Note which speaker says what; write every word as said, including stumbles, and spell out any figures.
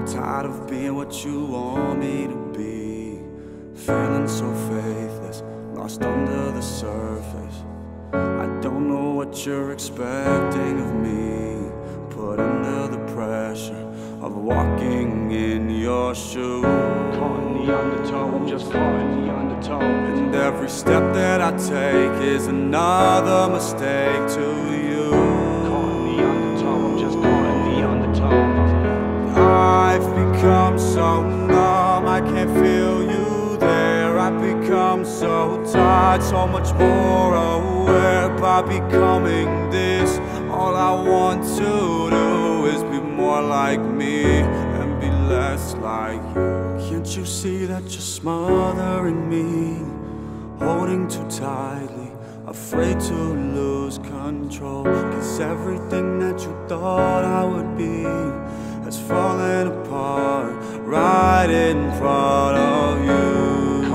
Speaker 1: tired of being what you want me to be, feeling so faithless, lost under the surface. I don't know what you're expecting of me, put under the pressure of walking in your shoes.
Speaker 2: Caught in the undertow, I'm just caught in the undertow.
Speaker 1: And every step that I take is another mistake to you.
Speaker 2: Caught in the undertow, I'm just caught in the undertow.
Speaker 1: I've become so numb, I can't feel you there. I've become so tired, so much more aware. By becoming this, all I want to do is be more like me and be less like you. Can't you see that you're smothering me, holding too tightly, afraid to lose control? Cause everything that you thought I would be has fallen apart right in front